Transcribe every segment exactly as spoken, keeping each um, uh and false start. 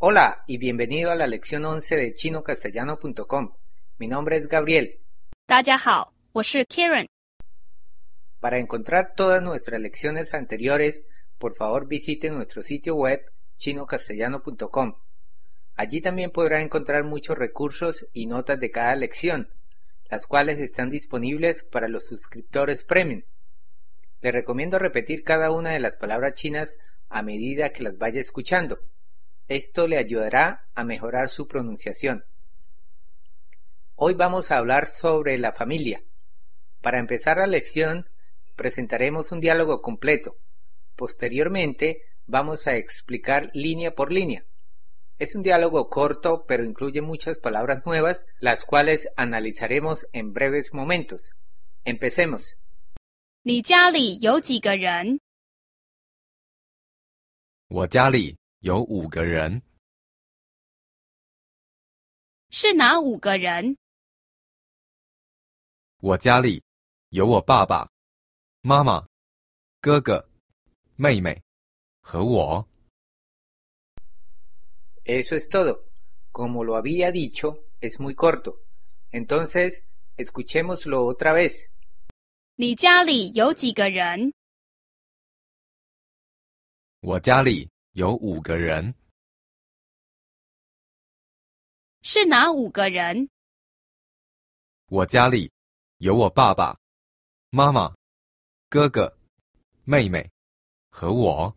Hola y bienvenido a la lección once de chino castellano punto com. Mi nombre es Gabriel. 大家好，我是 Karen. Para encontrar todas nuestras lecciones anteriores, por favor visite nuestro sitio web chino castellano punto com. Allí también podrá encontrar muchos recursos y notas de cada lección, las cuales están disponibles para los suscriptores premium. Le recomiendo repetir cada una de las palabras chinas a medida que las vaya escuchando. Esto le ayudará a mejorar su pronunciación. Hoy vamos a hablar sobre la familia. Para empezar la lección, presentaremos un diálogo completo. Posteriormente, vamos a explicar línea por línea. Es un diálogo corto, pero incluye muchas palabras nuevas, las cuales analizaremos en breves momentos. Empecemos. 你家里有几个人？ 我家里有五个人。 是哪五个人？ 我家里有我爸爸、妈妈、哥哥、妹妹和我。 Eso es todo. Como lo había dicho, es muy corto. Entonces, escuchémoslo otra vez. 你家里有几个人？ 我家里有五个人。 是哪五个人？ 我家里有我爸爸、妈妈、哥哥、妹妹和我。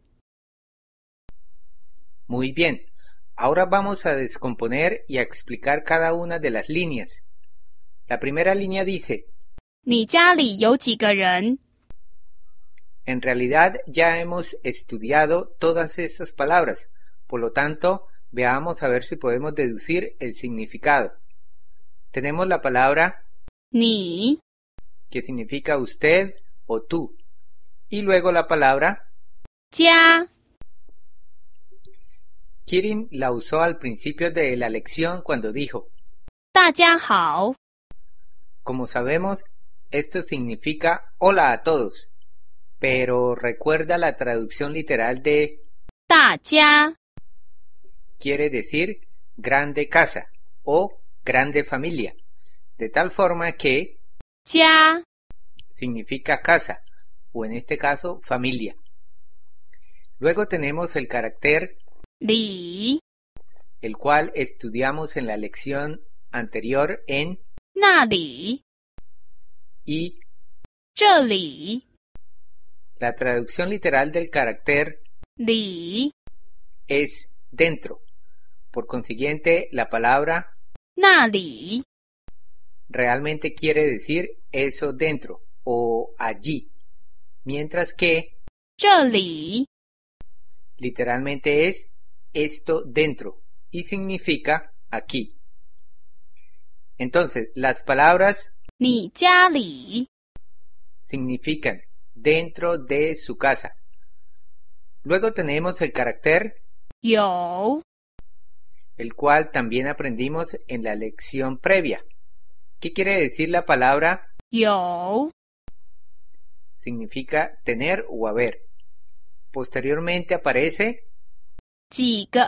Muy bien. Ahora vamos a descomponer y a explicar cada una de las líneas. La primera línea dice: 你家里有几个人？ En realidad ya hemos estudiado todas estas palabras, por lo tanto, veamos a ver si podemos deducir el significado. Tenemos la palabra 你 que significa usted o tú, y luego la palabra 家 Kirin la usó al principio de la lección cuando dijo: 大家好。 Como sabemos, esto significa hola a todos, pero recuerda la traducción literal de 大家 quiere decir grande casa o grande familia, de tal forma que 家 significa casa, o en este caso familia. Luego tenemos el carácter 里 el cual estudiamos en la lección anterior en 那里 y 这里 la traducción literal del carácter 里 es dentro. Por consiguiente, la palabra 那里 realmente quiere decir eso dentro o allí, mientras que 这里 literalmente es esto dentro y significa aquí. Entonces, las palabras 你家里 significan dentro de su casa. Luego tenemos el carácter 有 el cual también aprendimos en la lección previa. ¿Qué quiere decir la palabra? 有 Significa tener o haber. Posteriormente aparece 几个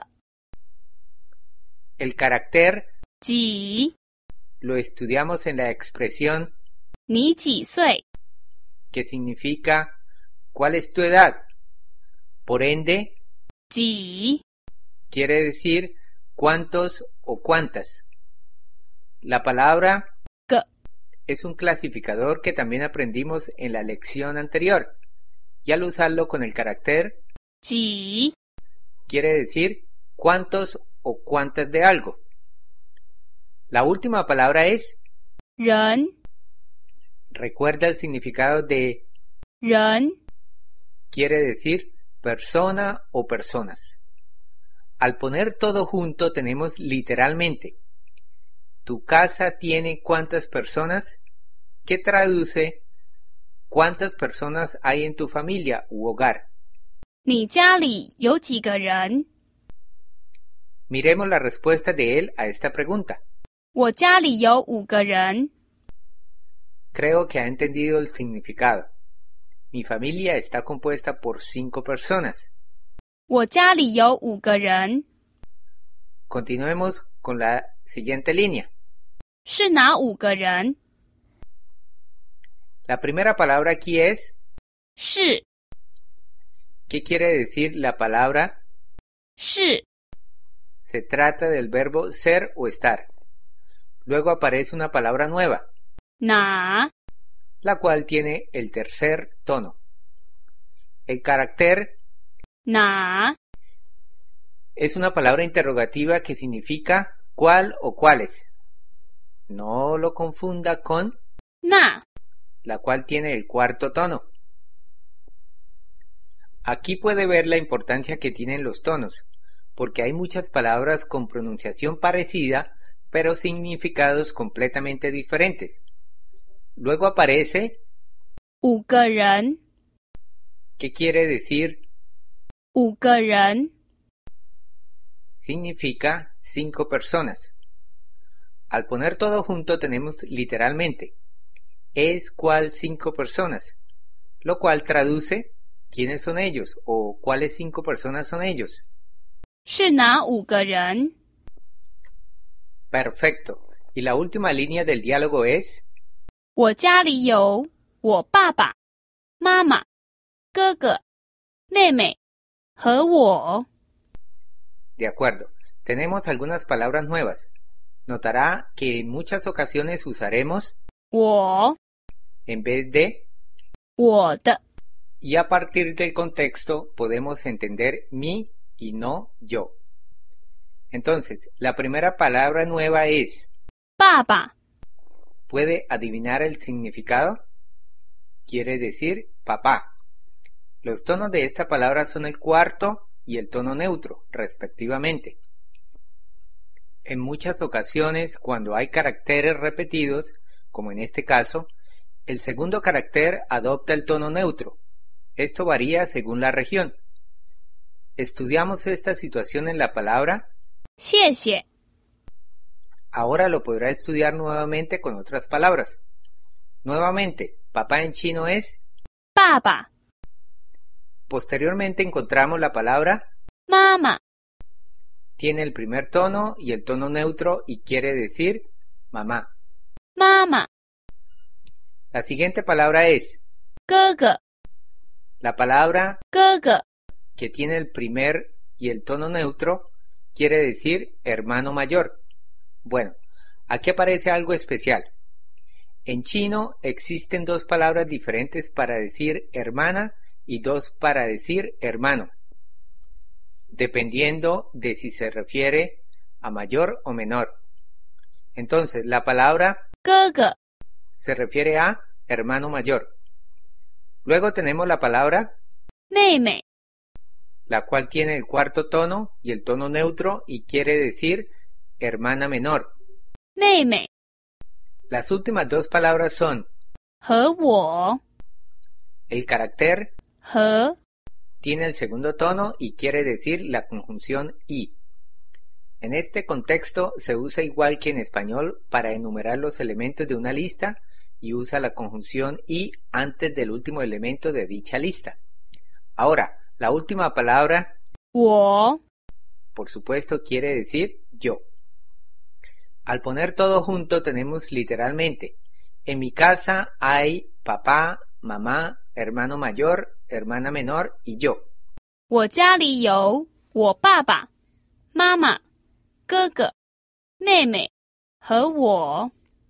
el carácter, 几 lo estudiamos en la expresión 你几岁？ que significa ¿cuál es tu edad? Por ende, 几 quiere decir cuántos o cuántas. La palabra 个 es un clasificador que también aprendimos en la lección anterior, y al usarlo con el carácter 几 quiere decir cuántos o cuántas de algo. La última palabra es 人 recuerda el significado de 人 quiere decir persona o personas. Al poner todo junto tenemos literalmente ¿tu casa tiene cuántas personas? Que traduce ¿cuántas personas hay en tu familia u hogar? 你家里有几个人？ Miremos la respuesta de él a esta pregunta. 我家里有五个人。 Creo que ha entendido el significado. Mi familia está compuesta por cinco personas. 我家里有五个人。 Continuemos con la siguiente línea. 是哪五个人？ La primera palabra aquí es, 是 ¿qué quiere decir la palabra? 是 Se trata del verbo ser o estar. Luego aparece una palabra nueva, 哪 la cual tiene el tercer tono. El carácter 哪 es una palabra interrogativa que significa cuál o cuáles. No lo confunda con 那 la cual tiene el cuarto tono. Aquí puede ver la importancia que tienen los tonos, porque hay muchas palabras con pronunciación parecida, pero significados completamente diferentes. Luego aparece, 五个人 ¿qué quiere decir? 五个人 Significa cinco personas. Al poner todo junto tenemos literalmente, es cual cinco personas, lo cual traduce quiénes son ellos o cuáles cinco personas son ellos. 是哪五个人？ Perfecto. Y la última línea del diálogo es, 我家里有我爸爸、妈妈、哥哥、妹妹和我。 de acuerdo, tenemos algunas palabras nuevas. Notará que en muchas ocasiones usaremos 我 en vez de, 我的 y a partir del contexto podemos entender mi y no yo. Entonces, la primera palabra nueva es, 爸爸 ¿puede adivinar el significado? Quiere decir papá. Los tonos de esta palabra son el cuarto y el tono neutro, respectivamente. En muchas ocasiones, cuando hay caracteres repetidos, como en este caso, el segundo carácter adopta el tono neutro. Esto varía según la región. Estudiamos esta situación en la palabra, 谢谢 ahora lo podrá estudiar nuevamente con otras palabras. Nuevamente, papá en chino es, 爸爸 posteriormente encontramos la palabra, 妈妈 tiene el primer tono y el tono neutro y quiere decir mamá. 妈妈 La siguiente palabra es, 哥哥 la palabra 哥哥 que tiene el primer y el tono neutro quiere decir hermano mayor. Bueno, aquí aparece algo especial. En chino existen dos palabras diferentes para decir hermana y dos para decir hermano, dependiendo de si se refiere a mayor o menor. Entonces, la palabra 哥哥 se refiere a hermano mayor. Luego tenemos la palabra, 妹妹 la cual tiene el cuarto tono y el tono neutro y quiere decir hermana menor. 妹妹 Las últimas dos palabras son, 和我 el carácter 和 tiene el segundo tono y quiere decir la conjunción y. En este contexto se usa igual que en español para enumerar los elementos de una lista y usa la conjunción y antes del último elemento de dicha lista. Ahora, la última palabra, 我 por supuesto, quiere decir yo. Al poner todo junto tenemos literalmente, en mi casa hay papá, mamá, hermano mayor, hermana menor y yo. 我家里有我爸爸、妈妈、哥哥、妹妹和我。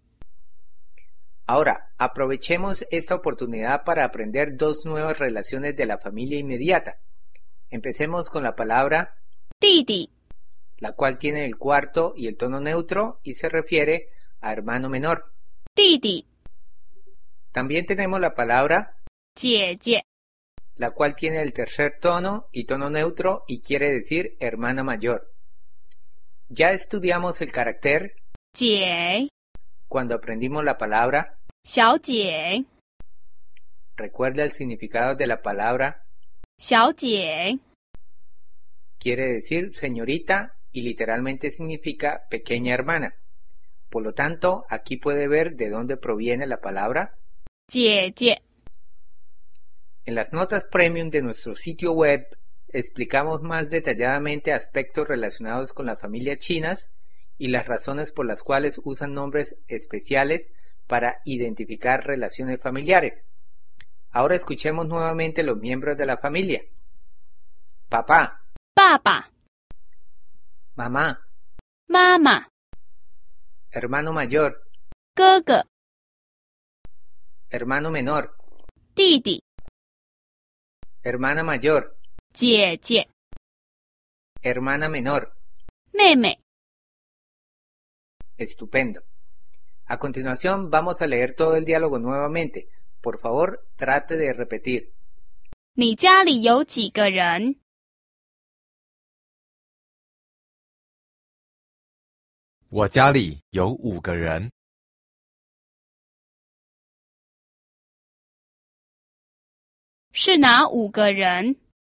Ahora, aprovechemos esta oportunidad para aprender dos nuevas relaciones de la familia inmediata. Empecemos con la palabra, 弟弟 la cual tiene el cuarto y el tono neutro y se refiere a hermano menor. 弟弟 También tenemos la palabra, 姐姐 la cual tiene el tercer tono y tono neutro y quiere decir hermana mayor. Ya estudiamos el carácter 姐 cuando aprendimos la palabra. 小姐 Recuerda el significado de la palabra, 小姐 quiere decir señorita y literalmente significa pequeña hermana. Por lo tanto, aquí puede ver de dónde proviene la palabra. 姐姐 En las notas premium de nuestro sitio web explicamos más detalladamente aspectos relacionados con las familias chinas y las razones por las cuales usan nombres especiales para identificar relaciones familiares. Ahora escuchemos nuevamente los miembros de la familia. Papá, 爸爸、 mamá, 妈妈、 hermano mayor, 哥哥、 hermano menor, 弟弟、 hermana mayor, 姐姐、 hermana menor. 妹妹。 Estupendo. A continuación vamos a leer todo el diálogo nuevamente. Por favor, trate de repetir. 你家里有几个人？ 我家里有五个人。 是哪五个人？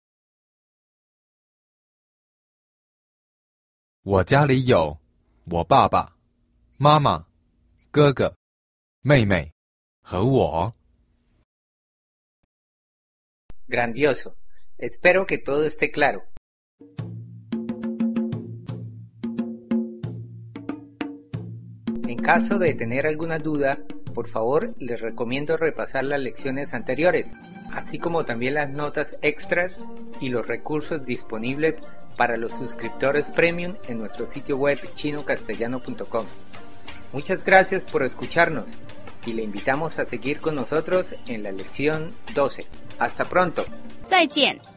我家里有我爸爸、妈妈、哥哥、妹妹和我。 Grandioso. Espero que todo esté claro. En caso de tener alguna duda, por favor les recomiendo repasar las lecciones anteriores, así como también las notas extras y los recursos disponibles para los suscriptores premium en nuestro sitio web chino castellano punto com. Muchas gracias por escucharnos y le invitamos a seguir con nosotros en la lección doce. Hasta pronto. 再见。